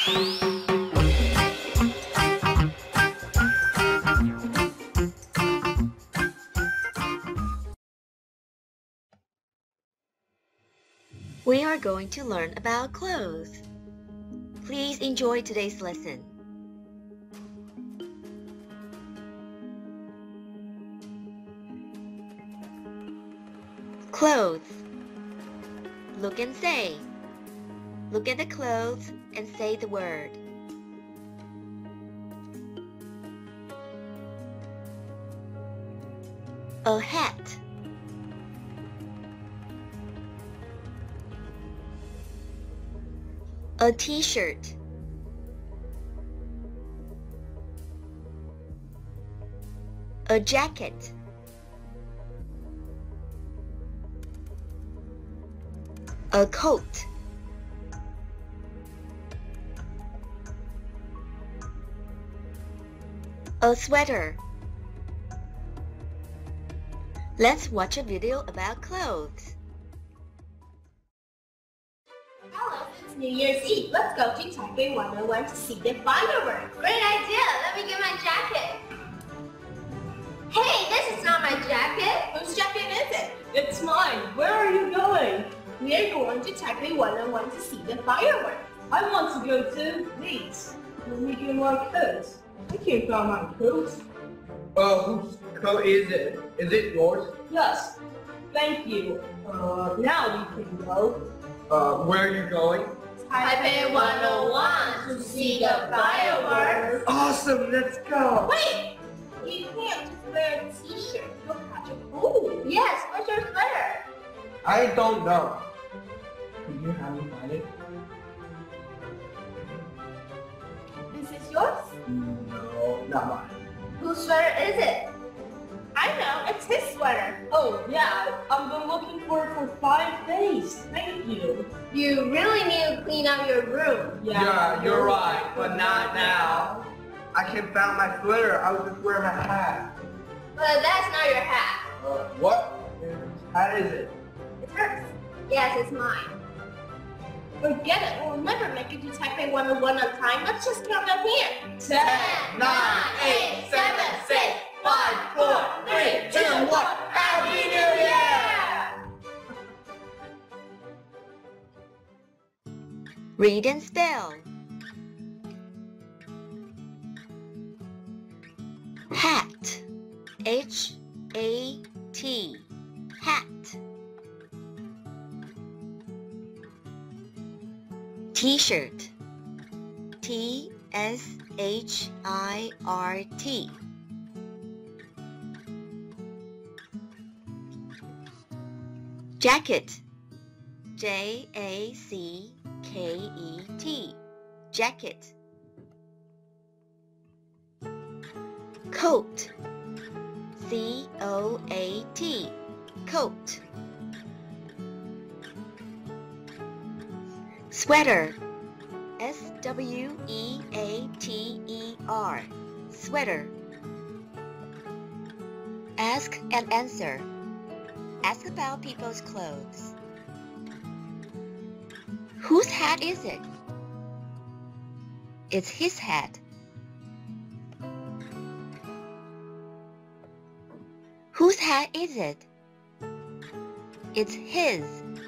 We are going to learn about clothes. Please enjoy today's lesson. Clothes. Look and say. Look at the clothes and say the word. A hat. A t-shirt. A jacket. A coat. A sweater. Let's watch a video about clothes. Hello, it's New Year's Eve. Let's go to Taipei 101 to see the fireworks. Great idea! Let me get my jacket. Hey, this is not my jacket. Whose jacket is it? It's mine. Where are you going? We're going to Taipei 101 to see the fireworks. I want to go too. Please, let me get my coat. I can't find my coat. Whose coat is it? Is it yours? Yes. Thank you. Now we can go. Where are you going? Taipei 101 to see the fireworks. Awesome, let's go! Wait! You can't just wear a t-shirt. You'll catch a cold. Yes, where's your sweater? I don't know. Can you have me find it? This is yours? No, not mine. Whose sweater is it? I know, it's his sweater. Oh, yeah. I've been looking for it for 5 days. Thank you. You really need to clean up your room. Yeah, you're right, but not now. I can't find my sweater. I was just wearing my hat. But that's not your hat. What? Whose hat is it? It's hers. Yes, it's mine. Forget it. We'll never make it to Taipei 101 on time. Let's just count down here. 10, 9, 8, 7, 6, 5, 4, 3, 2, 1. Happy New Year! Read and spell. Hat. H-A-T. Hat. T-shirt. T-S-H-I-R-T. Jacket. J-A-C-K-E-T. Jacket. Coat. C-O-A-T. Coat. Sweater. S-W-E-A-T-E-R. Sweater. Ask and answer. Ask about people's clothes. Whose hat is it? It's his hat. Whose hat is it? It's his.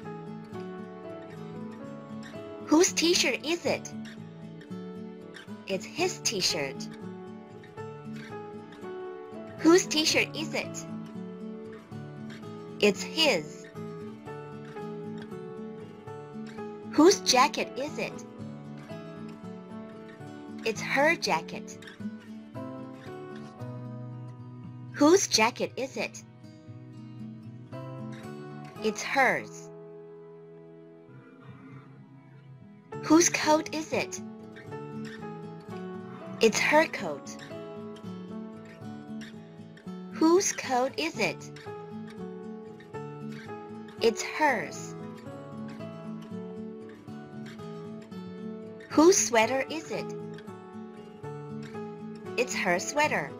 Whose t-shirt is it? It's his t-shirt. Whose t-shirt is it? It's his. Whose jacket is it? It's her jacket. Whose jacket is it? It's hers. Whose coat is it? It's her coat. Whose coat is it? It's hers. Whose sweater is it? It's her sweater.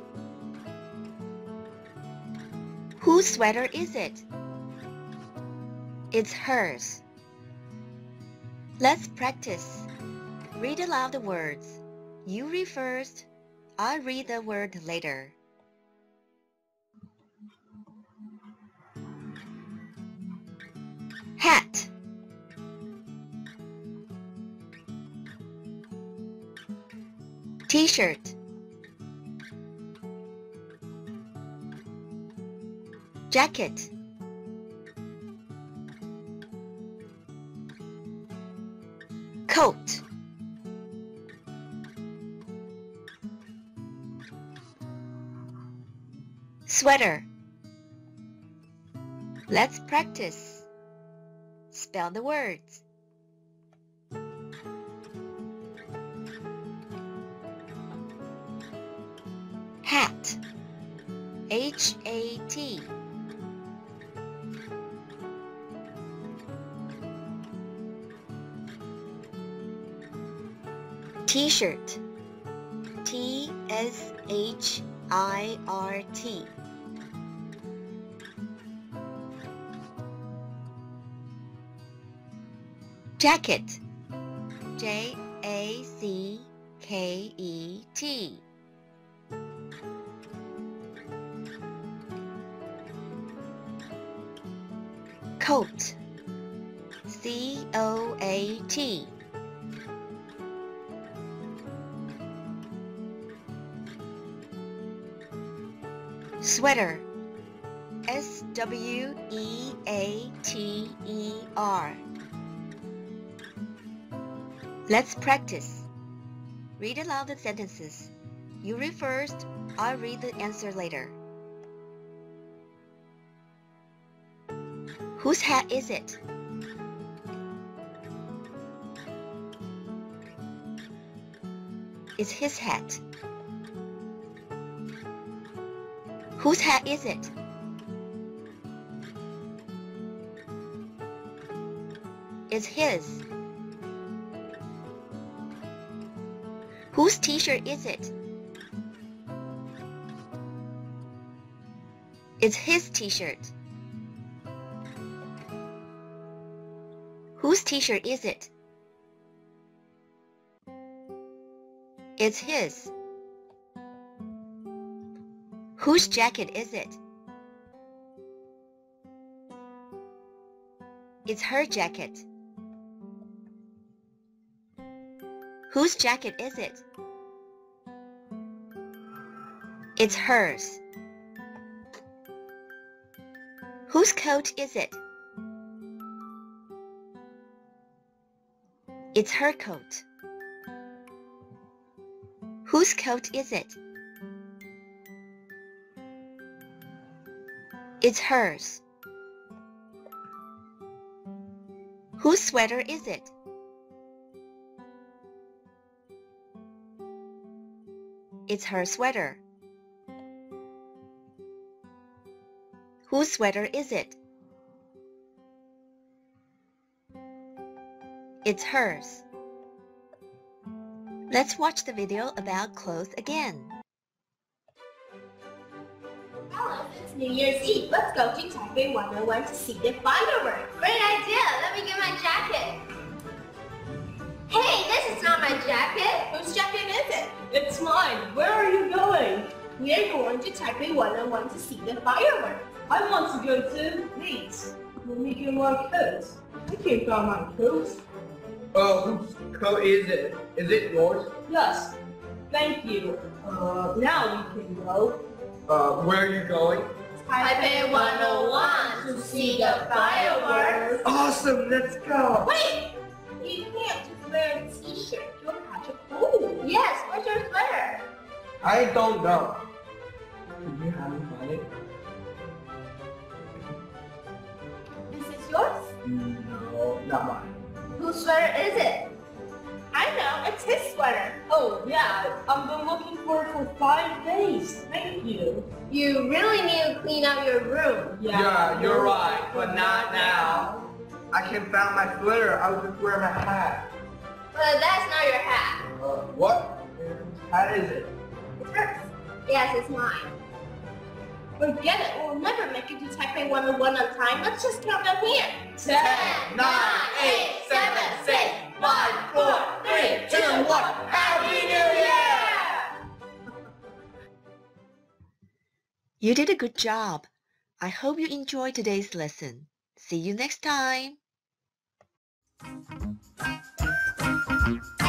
Whose sweater is it? It's hers. Let's practice. Read aloud the words. You read first. I'll read the word later. Hat. T-shirt. Jacket. Coat. Sweater. Let's practice. Spell the words. Hat. H-A-T. T-shirt. T-S-H-I-R-T. Jacket. J-A-C-K-E-T. Coat. C-O-A-T. Sweater. S-W-E-A-T-E-R. Let's practice. Read aloud the sentences. You read first. I'll read the answer later. Whose hat is it? It's his hat. Whose hat is it? It's his. Whose t-shirt is it? It's his t-shirt. Whose t-shirt is it? It's his. Whose jacket is it? It's her jacket. Whose jacket is it? It's hers. Whose coat is it? It's her coat. Whose coat is it? It's hers. Whose sweater is it? It's her sweater. Whose sweater is it? It's hers. Let's watch the video about clothes again. Hello, it's New Year's Eve. Let's go to Taipei 101 to see the fireworks. Great idea. Let me get my jacket. Hey, this is not my jacket. Whose jacket is it? It's mine. Where are you going? We are going to Taipei 101 to see the fireworks. I want to go too. Please, let me get my coat. I can't find my coat. Whose coat is it? Is it yours? Yes. Thank you. Now we can go. Where are you going? Taipei 101 to see the fireworks. Awesome, let's go. Wait! You can't just wear a t-shirt. You'll catch a cold. Yes, where's your sweater? I don't know. Can you have me find it? This is yours? No, not mine. Whose sweater is it? I know, it's his sweater. Oh yeah, I've been looking for it for 5 days. Thank you. You really need to clean up your room. Yeah, you're right, but not now. I can't find my sweater. I was just wearing my hat. But that's not your hat. What? Whose hat is it? It's hers. Yes, it's mine. Forget it. We'll never make it to Taipei 101 on time. Let's just count down here. 10, 9, 8, 7, 6, 5, 4, 3, 2, 1. Happy New Year! You did a good job. I hope you enjoyed today's lesson. See you next time.